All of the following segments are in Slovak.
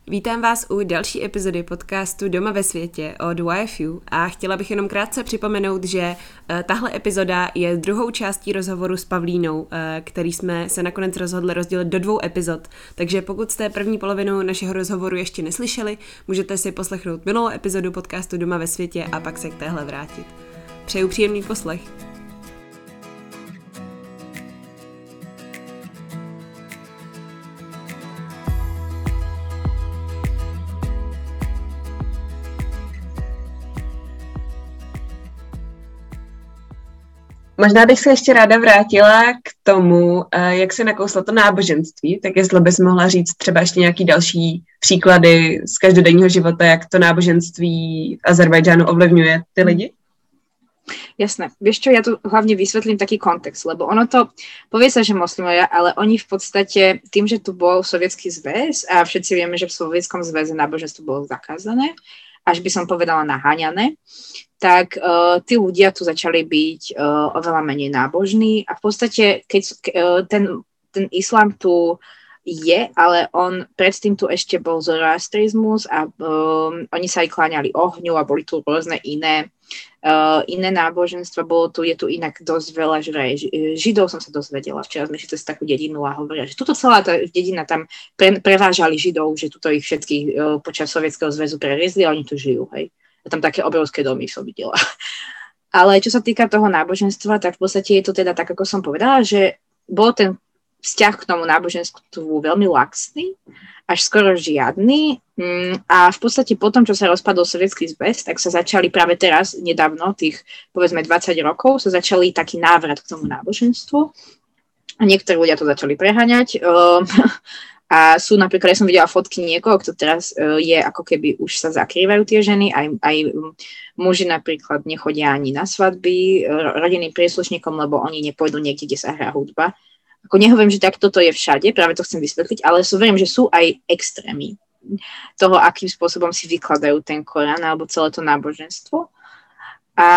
Vítám vás u další epizody podcastu Doma ve světě od YFU a chtěla bych jenom krátce připomenout, že tahle epizoda je druhou částí rozhovoru s Pavlínou, který jsme se nakonec rozhodli rozdělit do 2 epizod. Takže pokud jste první polovinu našeho rozhovoru ještě neslyšeli, můžete si poslechnout minulou epizodu podcastu Doma ve světě a pak se k téhle vrátit. Přeju příjemný poslech. Možná bych se ještě ráda vrátila k tomu, jak se nakouslo to náboženství, tak jestli bys mohla říct třeba ještě nějaký další příklady z každodenního života, jak to náboženství v Azerbajdžánu ovlivňuje ty lidi? Jasné. Vieš čo, ja tu hlavne vysvetlím taký kontext, lebo ono to, povie sa, že moslimovia, ale oni v podstate tým, že tu bol Sovietský zväz a všetci vieme, že v Sovietskom zväze náboženstvo bolo zakázané, až by som povedala naháňané, tak tí ľudia tu začali byť oveľa menej nábožní a v podstate, keď ten islám tu je, ale on predtým tu ešte bol zoroastrizmus a oni sa aj kláňali ohňu a boli tu rôzne iné náboženstva. Je tu inak dosť veľa Židov som sa dozvedela. Včera sme šli cez takú dedinu a hovoria, že tuto celá tá dedina tam prevážali Židov, že tuto ich všetkých počas Sovietskeho zväzu preriezli a oni tu žijú, hej. A tam také obrovské domy som videla. Ale čo sa týka toho náboženstva, tak v podstate je to teda tak, ako som povedala, že bol ten vzťah k tomu náboženstvu veľmi laxný, až skoro žiadny. A v podstate potom, čo sa rozpadol Sovietsky zväz, tak sa začali práve teraz, nedávno, tých povedzme 20 rokov, sa začali taký návrat k tomu náboženstvu. A niektorí ľudia to začali preháňať. A sú napríklad, ja som videla fotky niekoho, kto teraz je ako keby už sa zakrývajú tie ženy, aj muži napríklad nechodia ani na svadby rodinným príslušníkom, lebo oni nepôjdu niekde, kde sa hrá hudba. Ako nehovorím, že tak toto je všade, práve to chcem vysvetliť, ale verím, že sú aj extrémy toho, akým spôsobom si vykladajú ten Korán alebo celé to náboženstvo. A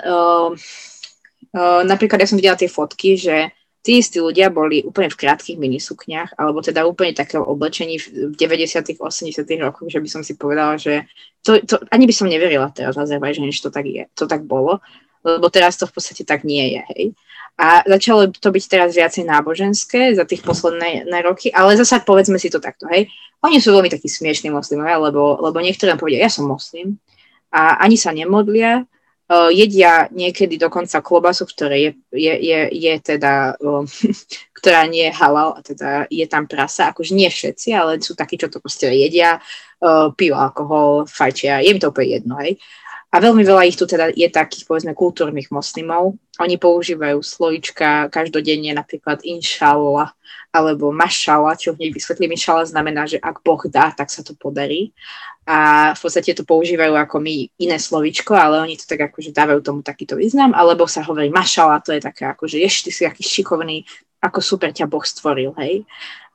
napríklad ja som videla tie fotky, že tí istí ľudia boli úplne v krátkych minisukniach, alebo teda úplne takého oblečení v 90. 80. rokoch, že by som si povedala, že to ani by som neverila teraz v Azerbajdžane, že to tak je, to tak bolo, lebo teraz to v podstate tak nie je, hej. A začalo to byť teraz viacej náboženské za tých posledné roky, ale zasa povedzme si to takto, hej. Oni sú veľmi takí smiešní moslimovia, lebo niektorí nám povedia, ja som moslim a ani sa nemodlia, jedia niekedy dokonca klobasu, ktoré je teda, ktorá nie je halal, a teda je tam prasa, akože nie všetci, ale sú takí, čo to proste jedia, pijú alkohol, fajčia, je mi to úplne jedno, hej. A veľmi veľa ich tu teda je takých, povedzme, kultúrnych moslimov. Oni používajú slovíčka každodenne, napríklad inšallah, alebo mašallah, čo hneď vysvetlím. Inšallah znamená, že ak Boh dá, tak sa to podarí. A v podstate to používajú ako my iné slovíčko, ale oni to tak akože dávajú tomu takýto význam. Alebo sa hovorí mašallah, to je také akože ty si aký šikovný, ako super ťa Boh stvoril, hej.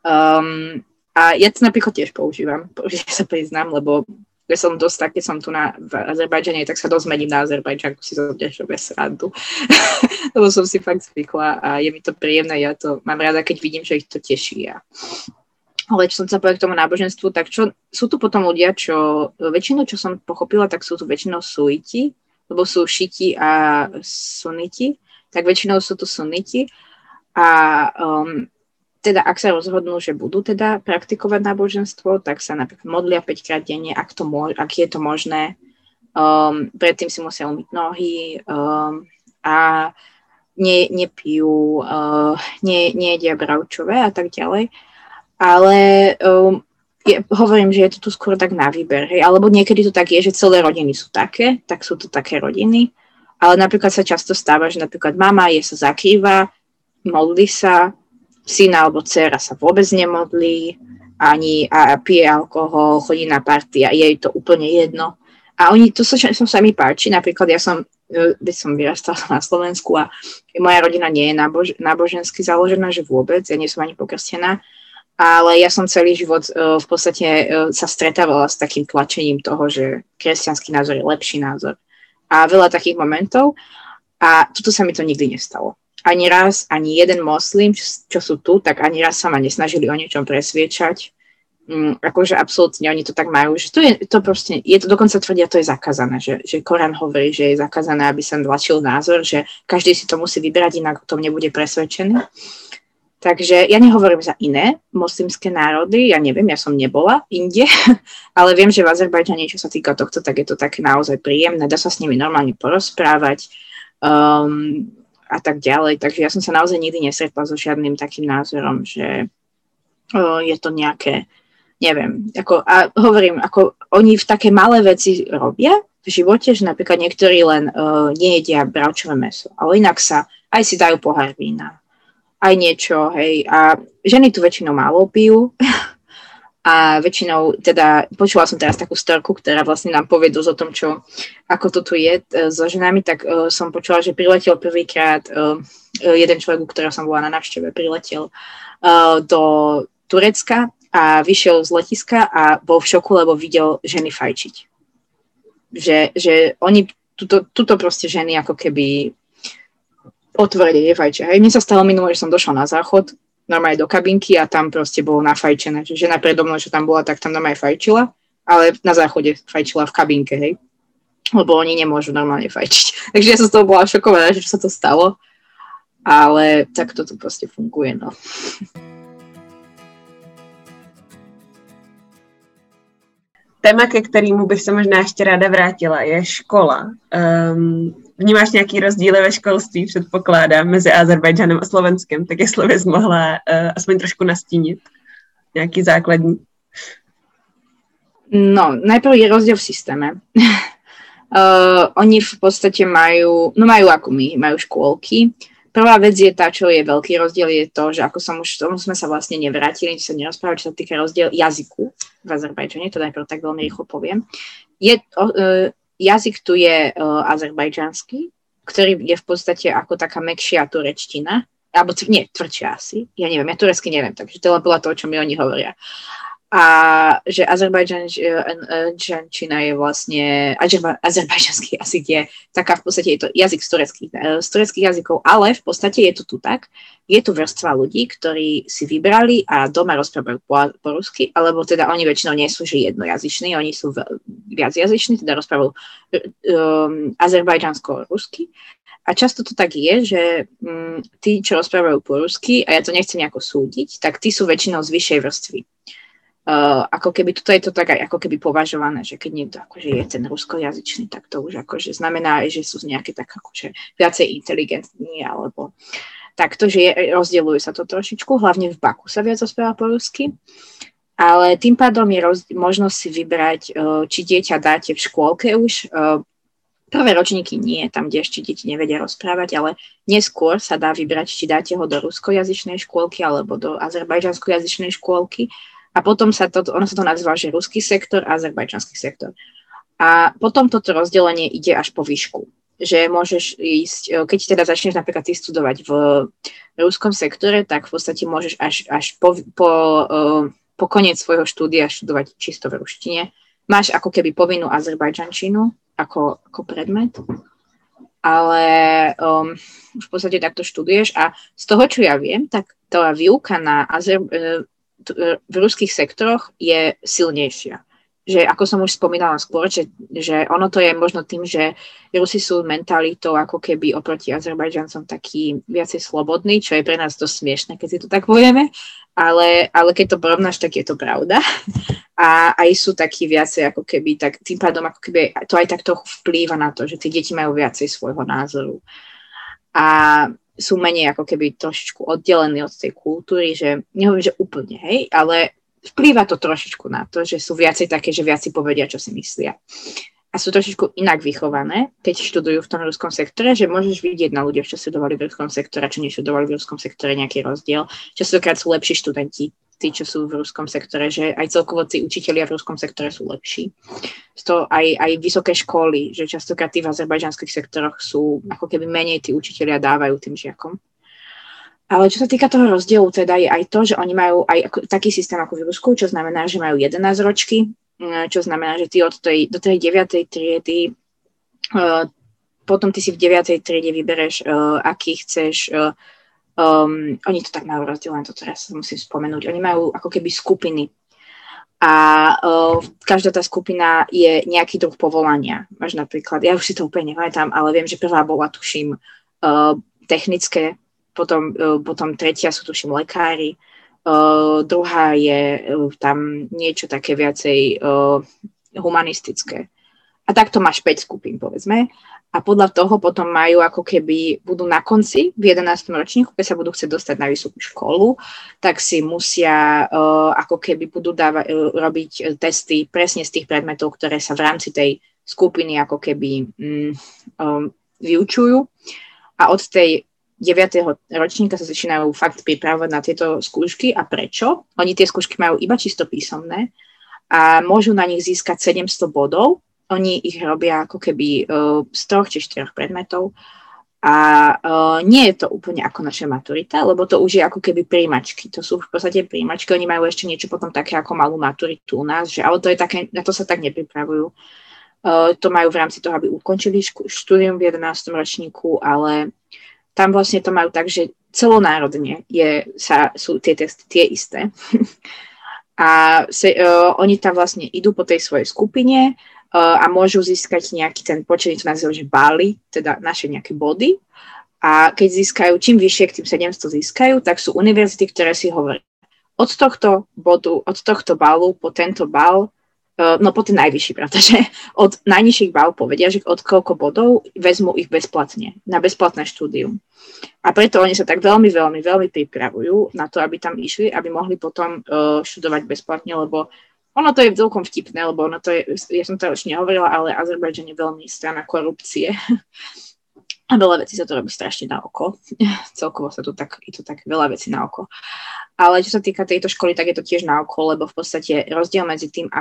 A ja to napríklad tiež používam, že sa priznám, lebo ja som dosť tak, keď som tu v Azerbajdžane, tak sa dosť mením na Azerbajdžanku, si to tiež bez srandu. Lebo som si fakt zvykla a je mi to príjemné, ja to mám rada, keď vidím, že ich to teší. Ale čo som sa povedala k tomu náboženstvu, tak sú tu potom ľudia, čo väčšinou, čo som pochopila, tak sú tu väčšinou suiti, lebo sú šiti a suniti, tak väčšinou sú tu suniti a teda ak sa rozhodnú, že budú teda praktikovať náboženstvo, tak sa napríklad modlia 5-krát denne, ak je to možné. Predtým si musia umyť nohy a nepijú, nejedia bravčové a tak ďalej. Ale hovorím, že je to tu skôr tak na výber. Hej? Alebo niekedy to tak je, že celé rodiny sú také, tak sú to také rodiny. Ale napríklad sa často stáva, že napríklad mama sa zakrýva, modlí sa, syn alebo dcera sa vôbec nemodlí, ani a pije alkohol, chodí na party a je jej to úplne jedno. A to sa mi páči, napríklad ja som vyrastala na Slovensku a moja rodina nie je nábožensky založená, že vôbec, ja nie som ani pokrstená, ale ja som celý život v podstate sa stretávala s takým tlačením toho, že kresťanský názor je lepší názor. A veľa takých momentov a toto sa mi to nikdy nestalo. Ani raz, ani jeden moslim, čo sú tu, tak ani raz sa ma nesnažili o niečom presviečať. akože absolútne oni to tak majú, že to proste, je to dokonca tvrdia, to je zakázané, že Korán hovorí, že je zakázané, aby sa tlačil názor, že každý si to musí vybrať, inak o tom nebude presvedčený. Takže ja nehovorím za iné moslimské národy, ja neviem, ja som nebola inde, ale viem, že v Azerbajdžane, čo sa týka tohto, tak je to také naozaj príjemné, dá sa s nimi normálne porozprávať a tak ďalej. Takže ja som sa naozaj nikdy nestretla so žiadnym takým názorom, že je to nejaké, neviem, a hovorím, ako oni v také malé veci robia v živote, že napríklad niektorí len nejedia bravčové mäso, ale inak sa aj si dajú pohár vína, aj niečo, hej, a ženy tu väčšinou málo pijú a väčšinou, teda počula som teraz takú storku, ktorá vlastne nám povie dosť o tom, ako to tu je so ženami, tak som počula, že priletel prvýkrát jeden človek, u ktorého som bola na návšteve, priletel do Turecka a vyšiel z letiska a bol v šoku, lebo videl ženy fajčiť. Že oni, tuto proste ženy ako keby otvorene nefajčia. Hej, mne sa stalo minulé, že som došla na záchod, normálne do kabinky a tam proste bolo nafajčené. Že žena predo mnou, čo tam bola, tak tam normálne fajčila, ale na záchode fajčila v kabinke, hej. Lebo oni nemôžu normálne fajčiť. Takže ja som z toho bola šokovaná, že sa to stalo. Ale tak toto proste funguje, no. Téma, ke kterému bych se možná ještě ráda vrátila, je škola. Vnímáš nějaký rozdíly ve školství, předpokládám, mezi Azerbajdžanem a Slovenskem, tak jestli bys mohla aspoň trošku nastínit nějaký základní. No, najprv je rozdiel v systéme. Oni v podstate majú ako my, majú škôlky. Prvá vec je tá, čo je veľký rozdiel, je to, že ako tomu sme sa vlastne nevrátili, čo sa nerozprávali, čo sa týka rozdiel jazyku v Azerbajdžane, to najprv tak veľmi rýchlo poviem. Jazyk tu je azerbajdžanský, ktorý je v podstate ako taká mäkšia turečtina, alebo tvrdšia asi, ja neviem, ja turecky neviem, takže to len podľa toho, čo mi oni hovoria. A že azerbajdžančina je vlastne, azerbajdžanský jazyk je taká, v podstate je to jazyk z tureckých jazykov, ale v podstate je to tu tak, je tu vrstva ľudí, ktorí si vybrali a doma rozprávajú po rusky, alebo teda oni väčšinou nie sú že jednojazyční, oni sú viacjazyční, teda rozprávajú azerbajdžansko-rusky. A často to tak je, že tí, čo rozprávajú po rusky, a ja to nechcem nejako súdiť, tak tí sú väčšinou z vyššej vrstvy. Ako keby, toto je to tak aj ako keby považované, že keď niekto akože je ten ruskojazyčný, tak to už akože znamená, že sú nejaké tak akože viacej inteligentní, alebo takto, že rozdielujú sa to trošičku, hlavne v Baku sa viac rozpráva po rusky, ale tým pádom je možnosť si vybrať, či dieťa dáte v škôlke už, prvé ročníky nie, tam, kde ešte deti nevedia rozprávať, ale neskôr sa dá vybrať, či dáte ho do ruskojazyčnej škôlky alebo do azerbajdžanskojazyčnej škôlky. A potom ono sa to nazýva, že ruský sektor a azerbajdžanský sektor. A potom toto rozdelenie ide až po výšku. Že môžeš ísť, keď teda začneš napríklad ty studovať v ruskom sektore, tak v podstate môžeš až po koniec svojho štúdia študovať čisto v ruštine. Máš ako keby povinnú azerbajdžančinu ako predmet, ale v podstate takto študuješ a z toho, čo ja viem, tak tá výuka v ruských sektoroch je silnejšia. Že ako som už spomínala skôr, že ono to je možno tým, že Rusi sú mentalitou ako keby oproti Azerbajdžancom taký viacej slobodný, čo je pre nás dosť smiešné, keď si to tak povieme, ale keď to porovnáš, tak je to pravda. A aj sú takí viacej ako keby, tak tým pádom ako keby to aj tak trochu vplýva na to, že tí deti majú viacej svojho názoru. A sú menej ako keby trošičku oddelení od tej kultúry, že nehovorím, že úplne, hej, ale vplýva to trošičku na to, že sú viacej také, že viac si povedia, čo si myslia. A sú trošičku inak vychované, keď študujú v tom ruskom sektore, že môžeš vidieť na ľuďoch, čo študovali v ruskom sektore, čo neštudovali v ruskom sektore, nejaký rozdiel. Častokrát sú lepší študenti, tí, čo sú v ruskom sektore, že aj celkovo tí učitelia v ruskom sektore sú lepší. To aj vysoké školy, že častokrát tí v azerbajdžanských sektoroch sú ako keby menej tí učitelia dávajú tým žiakom. Ale čo sa týka toho rozdielu, teda je aj to, že oni majú aj taký systém ako v Rusku, čo znamená, že majú 11 ročky, čo znamená, že ty do tej 9. triedy, potom ty si v 9. triede vybereš, aký chceš. Oni to tak majú rozdelené, to teraz musím spomenúť. Oni majú ako keby skupiny. A každá tá skupina je nejaký druh povolania. Máš napríklad, ja už si to úplne nepamätám, ale viem, že prvá bola, tuším, technické, potom tretia sú, tuším, lekári, druhá je tam niečo také viacej humanistické. A takto máš 5 skupín, povedzme. A podľa toho potom majú ako keby, budú na konci v 11. ročníku, keď sa budú chcieť dostať na vysokú školu, tak si musia ako keby budú robiť testy presne z tých predmetov, ktoré sa v rámci tej skupiny ako keby vyučujú. A od tej 9. ročníka sa začínajú fakt pripravovať na tieto skúšky. A prečo? Oni tie skúšky majú iba čisto písomné a môžu na nich získať 700 bodov. Oni ich robia ako keby z 3 či 4 predmetov a nie je to úplne ako naša maturita, lebo to už je ako keby príjmačky. To sú v podstate príjmačky, oni majú ešte niečo potom také ako malú maturitu u nás, že, ale to je také, na to sa tak nepripravujú. To majú v rámci toho, aby ukončili štúdium v 11. ročníku, ale tam vlastne to majú tak, že celonárodne sú tie testy tie isté. A oni tam vlastne idú po tej svojej skupine a môžu získať nejaký ten počet, to nazývajú, že bály, teda naše nejaké body. A keď získajú, čím vyššie k tým 700 získajú, tak sú univerzity, ktoré si hovoria, od tohto balu po tento bal, no po ten najvyšší, pretože od najnižších bál povedia, že od koľko bodov vezmú ich bezplatne, na bezplatné štúdium. A preto oni sa tak veľmi, veľmi, veľmi pripravujú na to, aby tam išli, aby mohli potom študovať bezplatne, lebo ono to je celkom vtipné, lebo ono to je, ja som to už nehovorila, ale Azerbajdžan je veľmi strana korupcie. A veľa vecí sa to robí strašne na oko. Celkovo je to tak veľa vecí na oko. Ale čo sa týka tejto školy, tak je to tiež na oko, lebo v podstate rozdiel medzi tým,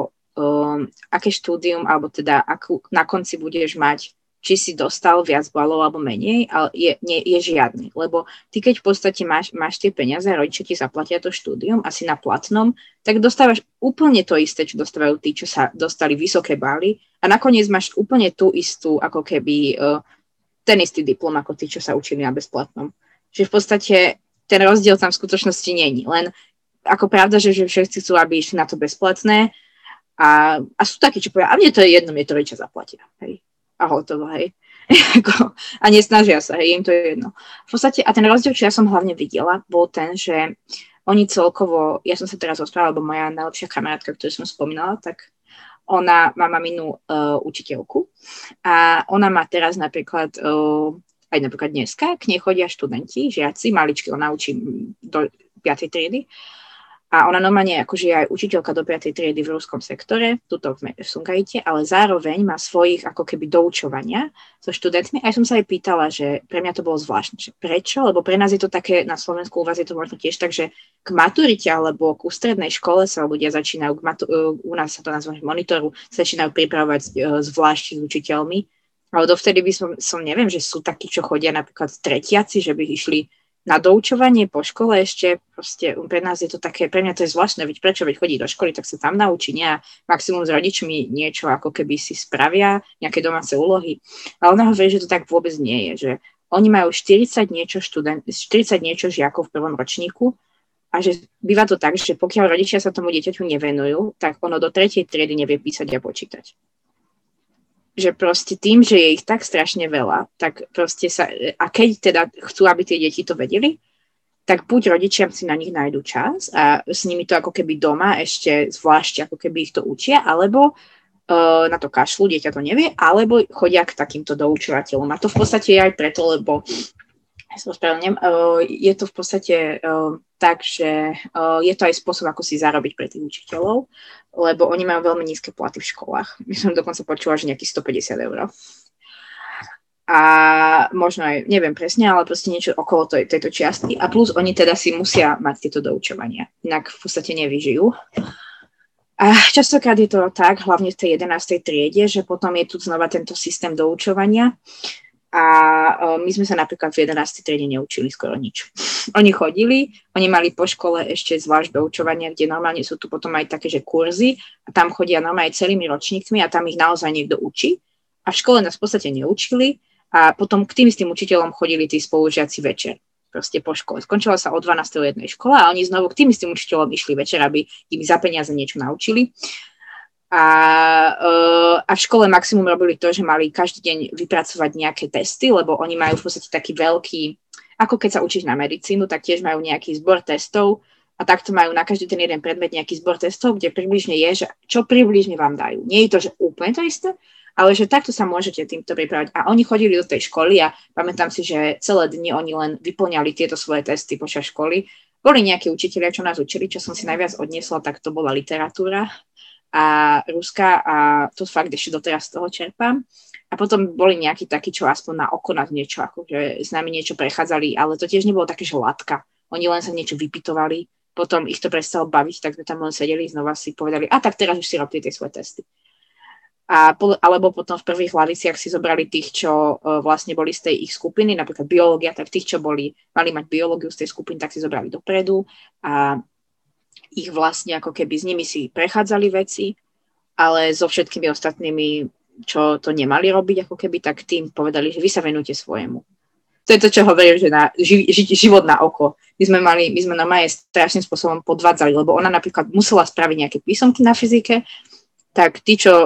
aké štúdium, alebo teda na konci budeš mať, či si dostal viac balov alebo menej, ale je žiadny. Lebo ty, keď v podstate máš tie peniaze, rodičia ti zaplatia to štúdium, asi na platnom, tak dostávaš úplne to isté, čo dostávajú tí, čo sa dostali vysoké baly a nakoniec máš úplne tú istú, ako keby ten istý diplom, ako tí, čo sa učili na bezplatnom. Čiže v podstate ten rozdiel tam v skutočnosti není. Len ako pravda, že všetci chcú, aby išli na to bezplatné a sú takí, čo povedia, a mne to je jedno, mne to rodičia zaplatia. Hej. A hotovo, hej. A nesnažia sa, hej, im to je jedno. V podstate, a ten rozdiel, čo ja som hlavne videla, bol ten, že oni celkovo, ja som sa teraz rozprávala, lebo moja najlepšia kamarátka, ktorú som spomínala, tak ona má maminu učiteľku a ona má teraz napríklad, aj napríklad dneska, k nej chodia študenti, žiaci, maličky, ona učí do 5. triedy. A ona normálne akože je aj učiteľka do 5. triedy v ruskom sektore, tuto v Sumgajite, ale zároveň má svojich ako keby doučovania so študentmi. A ja som sa aj pýtala, že pre mňa to bolo zvláštne. Že prečo? Lebo pre nás je to také, na Slovensku u vás je to možno tiež tak, že k maturite alebo k strednej škole sa ľudia začínajú, u nás sa to nazýva monitoru, začínajú pripravovať zvlášť s učiteľmi. Ale dovtedy som neviem, že sú takí, čo chodia napríklad tretiaci, že by išli na doučovanie po škole ešte, proste pre nás je to také, pre mňa to je zvláštne, veď prečo, veď chodí do školy, tak sa tam naučí, nie? A maximum s rodičmi niečo, ako keby si spravia, nejaké domáce úlohy. A ona hovorí, že to tak vôbec nie je, že oni majú 40 niečo žiakov v prvom ročníku a že býva to tak, že pokiaľ rodičia sa tomu dieťaťu nevenujú, tak ono do 3. triedy nevie písať a počítať. Že proste tým, že je ich tak strašne veľa, tak proste a keď teda chcú, aby tie deti to vedeli, tak buď rodičia si na nich nájdu čas a s nimi to ako keby doma ešte zvlášť ako keby ich to učia, alebo na to kašľú, dieťa to nevie, alebo chodia k takýmto doučovateľom. A to v podstate je aj preto, lebo je to v podstate tak, že je to aj spôsob, ako si zarobiť pre tých učiteľov, lebo oni majú veľmi nízke platy v školách. My som dokonca počula, že nejakých 150 €. A možno aj, neviem presne, ale proste niečo okolo tejto čiastky. A plus oni teda si musia mať tieto doučovania, inak v podstate nevyžijú. A častokrát je to tak, hlavne v tej 11. triede, že potom je tu znova tento systém doučovania. A my sme sa napríklad v 11. triede neučili skoro nič. Oni chodili, oni mali po škole ešte zvlášť doučovania, kde normálne sú tu potom aj také, že kurzy a tam chodia normálne celými ročníkmi a tam ich naozaj niekto učí. A v škole nás v podstate neučili a potom k tým istým učiteľom chodili tí spolužiaci večer. proste po škole. Skončila sa o 12. jednej škole a oni znovu k tým istým učiteľom išli večer, aby im za peniaze niečo naučili. A v škole maximum robili to, že mali každý deň vypracovať nejaké testy, lebo oni majú v podstate taký veľký, ako keď sa učíš na medicínu, tak tiež majú nejaký zbor testov a takto majú na každý ten jeden predmet nejaký zbor testov, kde približne je, že čo približne vám dajú. Nie je to, že úplne to isté, ale že takto sa môžete týmto pripravať. A oni chodili do tej školy a pamätám si, že celé dni oni len vyplňali tieto svoje testy počas školy. Boli nejakí učitelia, čo nás učili, čo som si najviac odniesla, tak to bola literatúra a ruská a to fakt ešte doteraz z toho čerpám. A potom boli nejakí takí, čo aspoň na oko nás niečo, akože s nami niečo prechádzali, ale to tiež nebolo také, že látka. Oni len sa niečo vypytovali, potom ich to prestalo baviť, tak sme tam len sedeli, znova si povedali, a tak teraz už si robili tie svoje testy. Alebo potom v prvých hlaviciach si zobrali tých, čo vlastne boli z tej ich skupiny, napríklad biológia, tak tých, čo mali mať biológiu z tej skupiny, tak si zobrali dopredu a ich vlastne ako keby s nimi si prechádzali veci, ale so všetkými ostatnými, čo to nemali robiť ako keby, tak tým povedali, že vy sa venujte svojemu. To je to, čo hovorím, že na život na oko. My sme normálne strašným spôsobom podvádzali, lebo ona napríklad musela spraviť nejaké písomky na fyzike, tak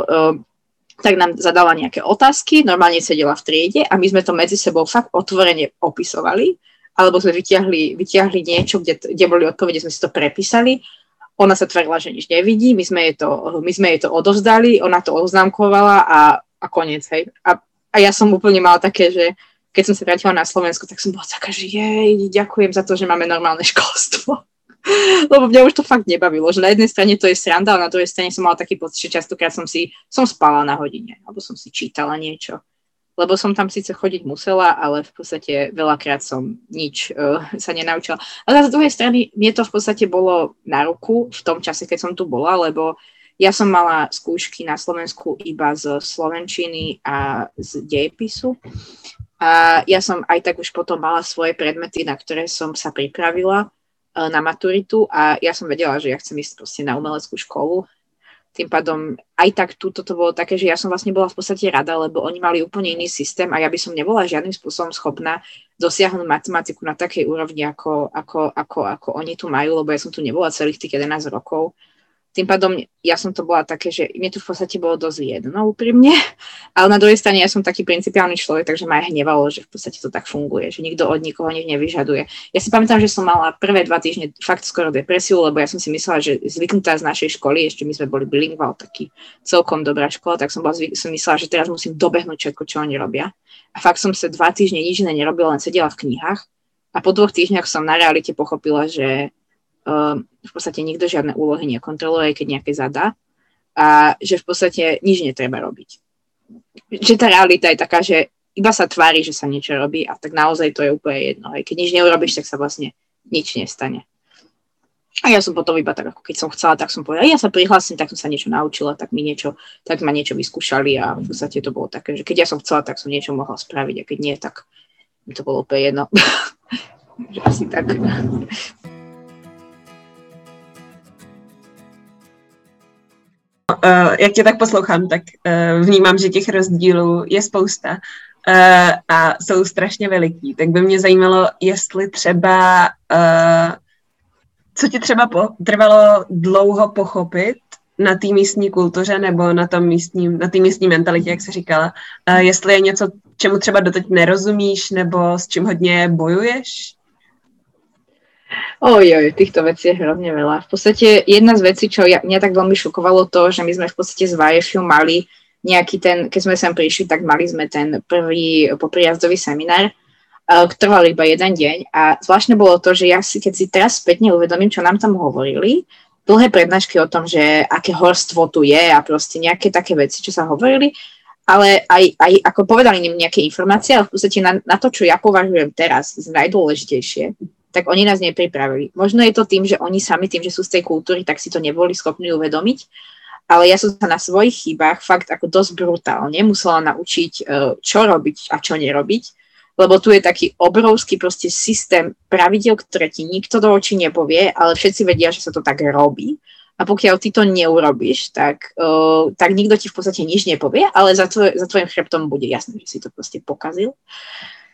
tak nám zadala nejaké otázky, normálne sedela v triede a my sme to medzi sebou fakt otvorene opisovali, alebo sme vytiahli niečo, kde boli odpovede, sme si to prepísali. Ona sa tvrdila, že nič nevidí, my sme jej to odovzdali, ona to oznámkovala a koniec, hej. A ja som úplne mala také, že keď som sa vrátila na Slovensku, tak som bola taká, že ďakujem za to, že máme normálne školstvo. Lebo mňa už to fakt nebavilo, že na jednej strane to je sranda, ale na druhej strane som mala taký pocit, že častokrát som spala na hodine, alebo som si čítala niečo. Lebo som tam síce chodiť musela, ale v podstate veľakrát som nič sa nenaučila. Ale z druhej strany mne to v podstate bolo na ruku v tom čase, keď som tu bola, lebo ja som mala skúšky na Slovensku iba z slovenčiny a z dejepisu. A ja som aj tak už potom mala svoje predmety, na ktoré som sa pripravila na maturitu a ja som vedela, že ja chcem ísť proste na umeleckú školu. Tým pádom aj tak túto to bolo také, že ja som vlastne bola v podstate rada, lebo oni mali úplne iný systém a ja by som nebola žiadnym spôsobom schopná dosiahnuť matematiku na takej úrovni, ako oni tu majú, lebo ja som tu nebola celých tých 11 rokov. Tým pádom ja som to bola také, že mne to v podstate bolo dosť jedno úprimne, ale na druhej strane ja som taký principiálny človek, takže ma aj hnevalo, že v podstate to tak funguje, že nikto od nikoho nič nevyžaduje. Ja si pamätám, že som mala prvé 2 týždne fakt skoro depresiu, lebo ja som si myslela, že zvyknutá z našej školy, ešte my sme boli bilingval, taký celkom dobrá škola, tak som myslela, že teraz musím dobehnúť všetko, čo oni robia. A fakt som sa 2 týždne nič iné nerobila, len sedela v knihách a po 2 týždňoch som na realite pochopila, že v podstate nikto žiadne úlohy nekontroluje, keď nejaké zadá a že v podstate nič netreba robiť. Že tá realita je taká, že iba sa tvári, že sa niečo robí a tak naozaj to je úplne jedno. Aj keď nič neurobíš, tak sa vlastne nič nestane. A ja som potom iba tak, ako keď som chcela, tak som povedala, ja sa prihlásim, tak som sa niečo naučila, tak ma niečo vyskúšali a v podstate to bolo také, že keď ja som chcela, tak som niečo mohla spraviť a keď nie, tak mi to bolo úplne jedno. Že asi tak. Jak tě tak poslouchám, tak vnímám, že těch rozdílů je spousta a jsou strašně veliký. Tak by mě zajímalo, jestli třeba, co ti třeba trvalo dlouho pochopit na té místní kultuře nebo na té místní mentalitě, jak jsi říkala. Jestli je něco, čemu třeba doteď nerozumíš nebo s čím hodně bojuješ? Týchto vecí je hrozne veľa. V podstate jedna z vecí, čo mňa tak veľmi šokovalo to, že my sme v podstate z YFU mali nejaký keď sme sem prišli, tak mali sme ten prvý poprijazdový seminár, trval iba 1 deň a zvláštne bolo to, že ja keď si teraz spätne uvedomím, čo nám tam hovorili, dlhé prednášky o tom, že aké horstvo tu je a proste nejaké také veci, čo sa hovorili, ale aj ako povedali im nejaké informácie, ale v podstate na to, čo ja považujem teraz za najdôležitejšie, tak oni nás nepripravili. Možno je to tým, že oni sami tým, že sú z tej kultúry, tak si to neboli schopní uvedomiť, ale ja som sa na svojich chybách fakt ako dosť brutálne musela naučiť, čo robiť a čo nerobiť, lebo tu je taký obrovský proste systém pravidiel, ktoré ti nikto do očí nepovie, ale všetci vedia, že sa to tak robí. A pokiaľ ty to neurobíš, tak nikto ti v podstate nič nepovie, ale za tvojim chrbtom bude jasné, že si to proste pokazil.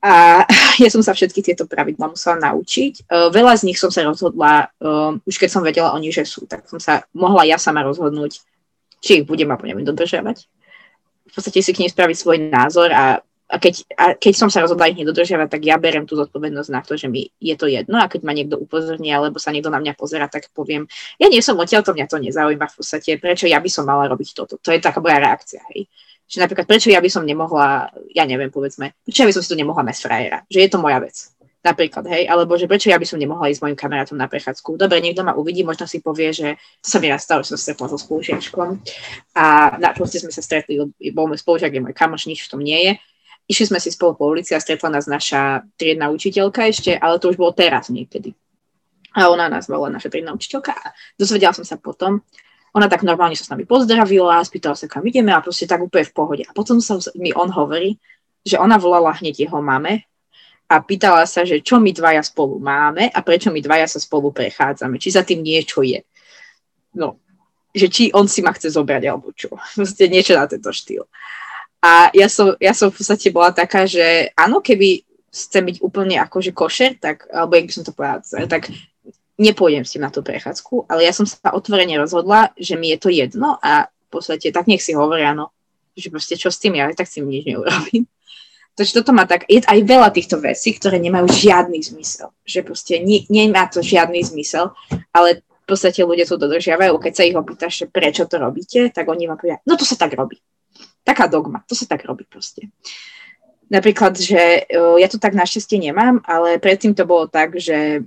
A ja som sa všetky tieto pravidlá musela naučiť. Veľa z nich som sa rozhodla, už keď som vedela oni, že sú, tak som sa mohla ja sama rozhodnúť, či ich budem alebo nebudem dodržiavať. V podstate si k nej spraviť svoj názor a keď som sa rozhodla ich nedodržiavať, tak ja berem tú zodpovednosť na to, že mi je to jedno a keď ma niekto upozorní alebo sa niekto na mňa pozerá, tak poviem, ja nie som odtiaľ, to mňa to nezaujíma v podstate, prečo ja by som mala robiť toto. To je taká moja reakcia, hej. Že napríklad, prečo ja by som nemohla, ja neviem, povedzme, prečo ja by som si to nemohla mať frajera, že je to moja vec. Napríklad, hej, alebo že prečo ja by som nemohla ísť s mojim kamarátom na prechádzku. Dobre, niekto ma uvidí, možno si povie, že to sa mi raz stalo, že som stretla so spolužiačkom a na proste sme sa stretli, bol môj spolužiak, je môj kamoš, nič v tom nie je. Išli sme si spolu po ulici a stretla nás naša triedna učiteľka ešte, ale to už bolo teraz niekedy. A ona nás bola naša triedna učiteľka a dozvedela som sa potom. Ona tak normálne sa s nami pozdravila, spýtala sa, kam ideme a proste tak úplne v pohode. A potom mi on hovorí, že ona volala hneď jeho mame a pýtala sa, že čo my dvaja spolu máme a prečo my dvaja sa spolu prechádzame. Či za tým niečo je. No, že či on si ma chce zobrať alebo čo. Proste niečo na tento štýl. A ja som v podstate bola taká, že áno, keby chcem byť úplne akože košer, tak, alebo jak by som to povedala, tak nepôjdem s tým na tú prechádzku, ale ja som sa otvorene rozhodla, že mi je to jedno a v podstate tak nech si hovoria, no, že proste čo s tým, ja tak s tým nič neurobím. Takže toto má tak, je aj veľa týchto vecí, ktoré nemajú žiadny zmysel, že proste nemá to žiadny zmysel, ale v podstate ľudia to dodržiavajú, keď sa ich opýtaš, že prečo to robíte, tak oni vám povedia, no to sa tak robí. Taká dogma, to sa tak robí proste. Napríklad, že ja to tak našťastie nemám, ale predtým to bolo tak, že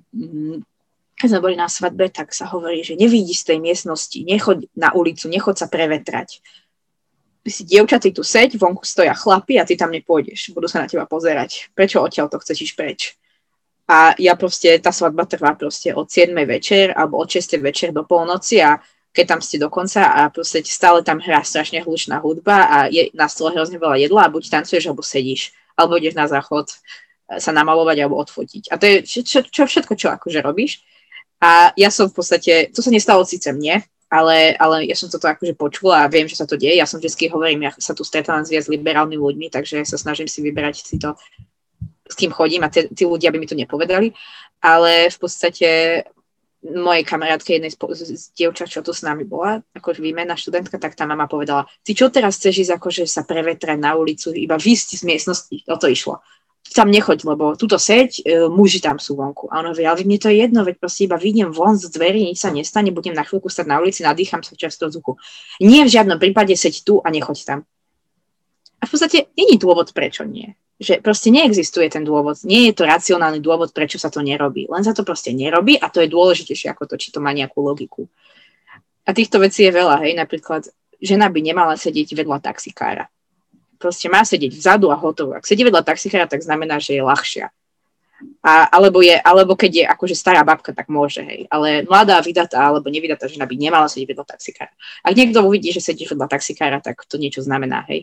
keď sme boli na svadbe, tak sa hovorí, že nevidí z tej miestnosti, nechoď na ulicu, nechoď sa prevetrať. Ty si dievčatý tu seď, vonku stoja chlapi a ty tam nepôjdeš, budú sa na teba pozerať. Prečo odtiaľ to chceš ísť preč? A ja proste, tá svadba trvá proste od 7 večer alebo od 6 večer do polnoci a keď tam ste dokonca a proste stále tam hrá strašne hlučná hudba a je na stole hrozne veľa jedla a buď tancuješ, alebo sedíš, alebo ideš na záchod sa namalovať alebo odfotiť. A to je všetko, čo akože robíš. A ja som v podstate, to sa nestalo síce mne, ale ja som toto akože počula a viem, že sa to deje. Ja som vždycky hovorím, ja sa tu stretávam s viac liberálnymi ľuďmi, takže sa snažím si vyberať si to, s kým chodím a tí ľudia by mi to nepovedali. Ale v podstate mojej kamarátke, jednej z dievčat, čo tu s nami bola, akože výmenná študentka, tak tá mama povedala, ty čo teraz chceš ísť akože sa prevetrať na ulicu, iba výjsť z miestnosti, o to išlo. Tam nechoď, lebo túto seď, muži tam sú vonku. A ona hovorí, ale mne to je jedno, veď proste iba vyjdem von z dverí, nič sa nestane, budem na chvíľku stať na ulici, nadýcham sa často vzduchu. Nie v žiadnom prípade seď tu a nechoď tam. A v podstate není dôvod, prečo nie. Že proste neexistuje ten dôvod. Nie je to racionálny dôvod, prečo sa to nerobí. Len sa to proste nerobí a to je dôležitejšie ako to, či to má nejakú logiku. A týchto vecí je veľa, hej. Napríklad, žena by nemala sedieť vedľa taxikára. Proste má sedieť vzadu a hotovo. Ak sedí vedľa taxikára, tak znamená, že je ľahšia. Alebo keď je akože stará babka, tak môže, hej. Ale mladá, vydatá alebo nevydatá žena by nemala sedieť vedľa taxikára. Ak niekto uvidí, že sedíš vedľa taxikára, tak to niečo znamená, hej.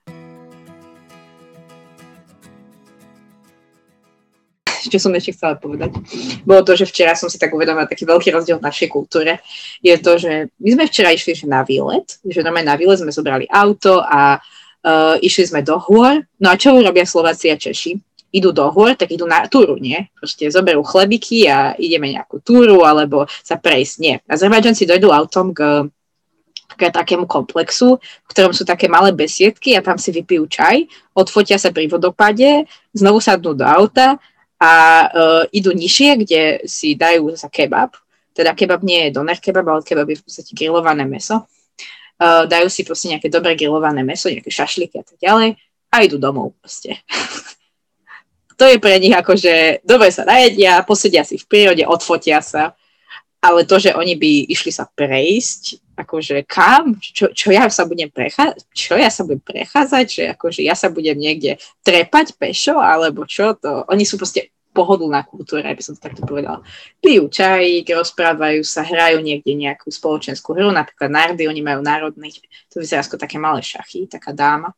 Čo som ešte chcela povedať, bolo to, že včera som si tak uvedomila taký veľký rozdiel v našej kultúre. Je to, že my sme včera išli na výlet, že normálne na výlet sme zobrali auto a išli sme do hôr. No a čo robia Slováci a Češi? Idú do hôr, tak idú na túru, nie? Proste zoberú chlebiky a ideme nejakú túru alebo sa prejsť, nie. Azerbajdžanci dojdú autom k takému komplexu, v ktorom sú také malé besiedky a tam si vypijú čaj, odfotia sa pri vodopade, znovu sadnú do auta a idú nižšie, kde si dajú zasa kebab. Teda kebab nie je doner kebab, ale kebab je v podstate grillované mäso. Dajú si proste nejaké dobré grillované mäso, nejaké šašliky a tak ďalej a idú domov proste. To je pre nich akože dobre sa najedia, posedia si v prírode, odfotia sa, ale to, že oni by išli sa prejsť, akože kam? Čo ja sa budem prechádzať? Že akože ja sa budem niekde trepať pešo, alebo čo to? Oni sú proste pohodlná kultúra, by som to takto povedala. Pijú čajík, rozprávajú sa, hrajú niekde nejakú spoločenskú hru, napríklad nardy, oni majú národný, to vyzerá ako také malé šachy, taká dáma.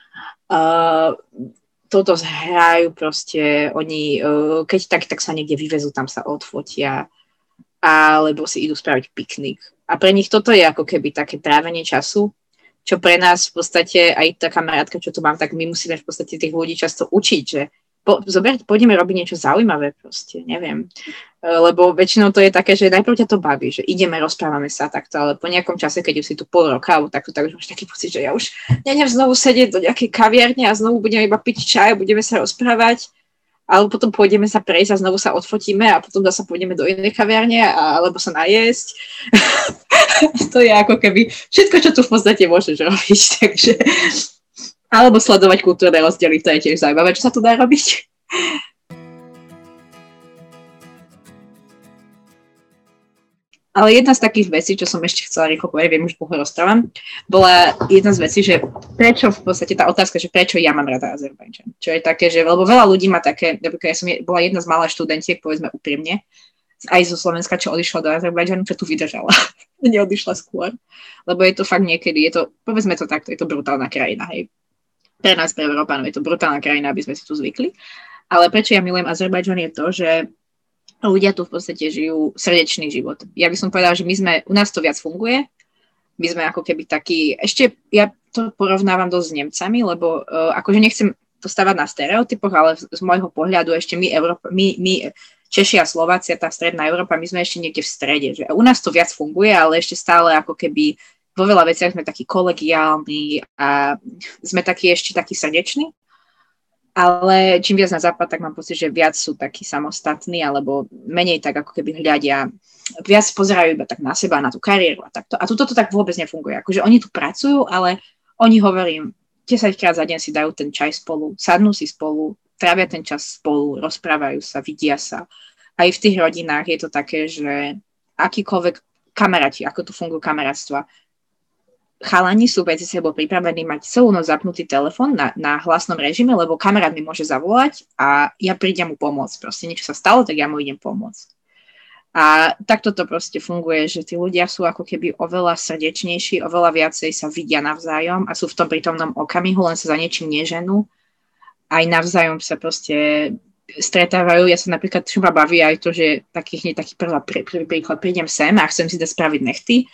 Toto hrajú proste, oni, keď tak sa niekde vyvezú, tam sa odfotia, alebo si idú spraviť piknik. A pre nich toto je ako keby také trávenie času, čo pre nás v podstate, aj tá kamarátka, čo tu mám, tak my musíme v podstate tých ľudí často učiť, že pôjdeme robiť niečo zaujímavé proste, neviem. Lebo väčšinou to je také, že najprv ťa to baví, že ideme, rozprávame sa takto, ale po nejakom čase, keď už si tu pol roka, alebo takto, tak už máš taký pocit, že ja už neviem znovu sedieť do nejakej kaviarne a znovu budeme iba piť čaj, budeme sa rozprávať, alebo potom pôjdeme sa prejsť a znovu sa odfotíme a potom zase pôjdeme do inej kaviarne alebo sa najesť. To je ako keby všetko, čo tu v podstate môžeš robiť, takže... Alebo sledovať kultúrne rozdiely, to je tiež zaujímavé, čo sa tu dá robiť. Ale jedna z takých vecí, čo som ešte chcela rýchlo povedať, viem, už dlho rozprávam, bola jedna z vecí, že prečo v podstate tá otázka, že prečo ja mám rada Azerbajdžan. Čo je také, že lebo veľa ľudí má také, napríklad ja som bola jedna z malých študentiek, povedzme úprimne, aj zo Slovenska, čo odišla do Azerbajdžanu, čo tu vydržala. Neodišla skôr. Lebo je to fakt niekedy, povedzme to takto, je to brutálna krajina, hej. Pre nás, pre Európanov je to brutálna krajina, aby sme si tu zvykli. Ale prečo ja milujem Azerbajdžan je to, že ľudia tu v podstate žijú srdečný život. Ja by som povedala, že u nás to viac funguje. My sme ako keby takí, ešte ja to porovnávam dosť s Nemcami, lebo akože nechcem to stavať na stereotypoch, ale z môjho pohľadu ešte my Češi a Slováci a tá stredná Európa, my sme ešte niekde v strede. Že u nás to viac funguje, ale ešte stále ako keby vo veľa veciach sme takí kolegiálni a sme ešte takí srdeční. Ale čím viac na západ, tak mám pocit, že viac sú takí samostatní, alebo menej tak ako keby hľadia, viac pozerajú iba tak na seba, na tú kariéru a takto. A tuto to tak vôbec nefunguje. Akože oni tu pracujú, ale oni, hovorím, 10-krát za deň si dajú ten čaj spolu, sadnú si spolu, trávia ten čas spolu, rozprávajú sa, vidia sa. Aj v tých rodinách je to také, že akýkoľvek kamaráti, ako tu fungujú kamarátstva, chalani sú medzi sebou pripravení mať celú noc zapnutý telefón na hlasnom režime, lebo kamarát mi môže zavolať a ja prídem mu pomôcť. Proste niečo sa stalo, tak ja mu idem pomôcť. A takto to proste funguje, že tí ľudia sú ako keby oveľa srdečnejší, oveľa viacej sa vidia navzájom a sú v tom prítomnom okamihu, len sa za niečím neženú. Aj navzájom sa proste stretávajú. Ja sa napríklad, čo ma baví aj to, že taký prvý príklad, prídem sem a chcem si dať spraviť nechty.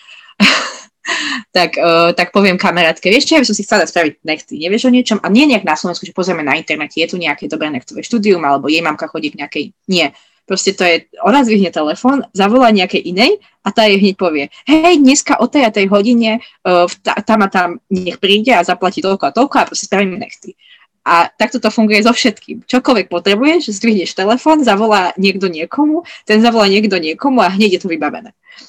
tak poviem kamarátke, vieš čo, ja by som si chcela spraviť nechty, nevieš o niečom? A nie nejak na Slovensku, že pozrieme na internete, je tu nejaké dobré nechtové štúdium, alebo jej mamka chodí k nejakej, nie. Proste to je, ona zvihne telefón, zavolá nejakej inej a tá jej hneď povie, hej, dneska o tej a tej hodine tam a tam nech príde a zaplatí toľko a toľko a proste spravíme nechty. A takto to funguje so všetkým. Čokoľvek potrebuješ, zdvihneš telefón, zavolá niekto niekomu, ten zavolá niekto niekomu a hneď je to vybavené.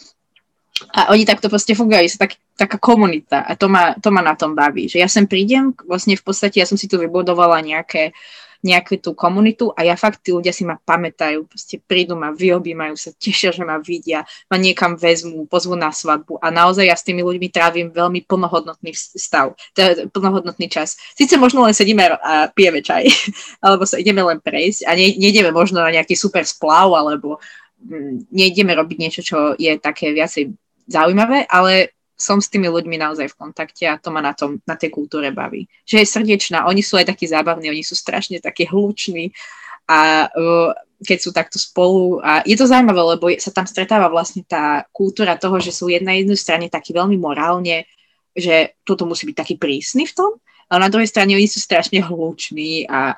A oni takto proste fungujú, sú taká komunita a to ma na tom baví, že ja sem prídem, vlastne v podstate ja som si tu vybudovala nejakú tú komunitu a ja fakt, tí ľudia si ma pamätajú, proste prídu ma, vyobímajú sa, tešia, že ma vidia, ma niekam vezmú, pozvú na svadbu a naozaj ja s tými ľuďmi trávim veľmi plnohodnotný stav, teda plnohodnotný čas. Sice možno len sedíme a pijeme čaj, alebo sa ideme len prejsť a nejdeme možno na nejaký super splav, alebo nejdeme robiť niečo, čo je také viacej zaujímavé, ale som s tými ľuďmi naozaj v kontakte a to ma na tej kultúre baví. Že je srdečná, oni sú aj takí zábavní, oni sú strašne takí hluční a keď sú takto spolu a je to zaujímavé, lebo sa tam stretáva vlastne tá kultúra toho, že sú na jednej strane takí veľmi morálne, že toto musí byť taký prísny v tom, ale na druhej strane oni sú strašne hluční a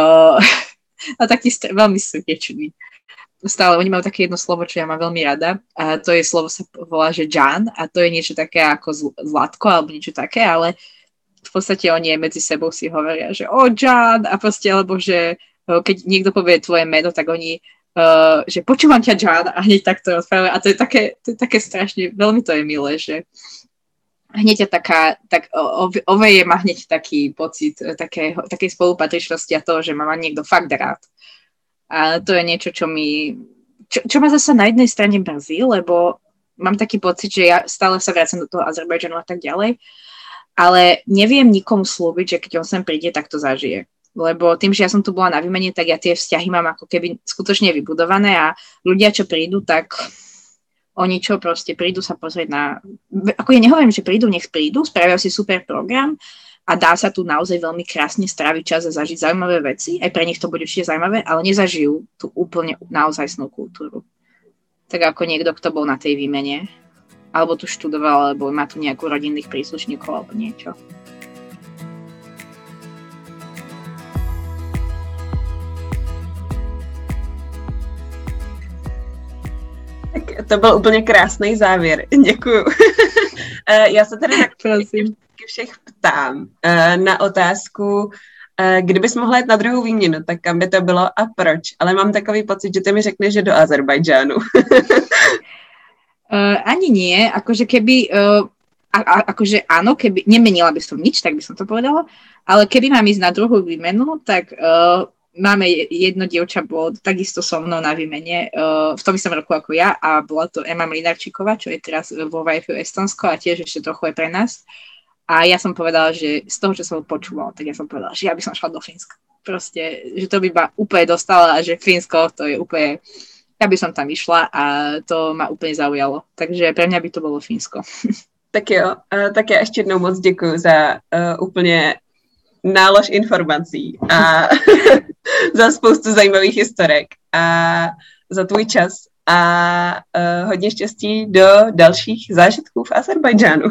takí veľmi srdeční. Stále, oni majú také jedno slovo, čo ja mám veľmi rada a to je slovo sa volá, že Jan a to je niečo také ako zlatko alebo niečo také, ale v podstate oni aj medzi sebou si hovoria, že Jan a proste, alebo že keď niekto povie tvoje meno, tak oni, že počúvam ťa Jan a hneď takto rozprávajú a to je také strašne, veľmi to je milé, že hneď tak oveje ma hneď taký pocit takej spolupatričnosti a toho, že ma niekto fakt rád. A to je niečo, čo ma zase na jednej strane mrzí, lebo mám taký pocit, že ja stále sa vracam do toho Azerbajdžanu a tak ďalej, ale neviem nikomu slúbiť, že keď on sem príde, tak to zažije. Lebo tým, že ja som tu bola na výmene, tak ja tie vzťahy mám ako keby skutočne vybudované a ľudia, čo prídu, tak oni čo proste prídu sa pozrieť na... Ako ja nehovorím, že prídu, nech prídu, spravia si super program, a dá sa tu naozaj veľmi krásne stráviť čas a zažiť zaujímavé veci. Aj pre nich to bude určite zaujímavé, ale nezažijú tú úplne naozajstnú kultúru. Tak ako niekto, kto bol na tej výmene, alebo tu študoval, alebo má tu nejakú rodinných príslušníkov, alebo niečo. To byl úplně krásný závěr. Děkuju. Já se tady taky všech ptám na otázku, kdybys mohla jít na druhou výměnu, tak kam by to bylo a proč? Ale mám takový pocit, že ty mi řekneš, že do Azerbajdžánu. Ani nie, akože keby, akože áno, keby, nemenila by som nič, tak by som to povedala, ale keby mám ísť na druhú výmenu, tak máme jedno dievča, bolo takisto so mnou na výmene v tom istom roku ako ja a bola to Ema Mlinarčíková, čo je teraz vo YFU Estonsko a tiež ešte trochu je pre nás. A ja som povedala, že z toho, čo som počúvala, tak ja som povedala, že ja by som šla do Fínska. Proste, že to by ma úplne dostala a že Fínsko to je úplne... Ja by som tam išla a to ma úplně zaujalo. Takže pre mňa by to bylo Fínsko. Tak jo, tak já ještě jednou moc děkuji za úplně nálož informací a za spoustu zajímavých historek a za tvůj čas a hodně štěstí do dalších zážitků v Azerbajdžánu.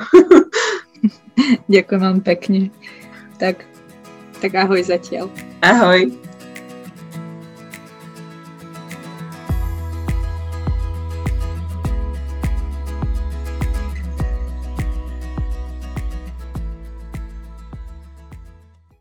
Ďakujem vám pekne. Tak ahoj zatiaľ. Ahoj.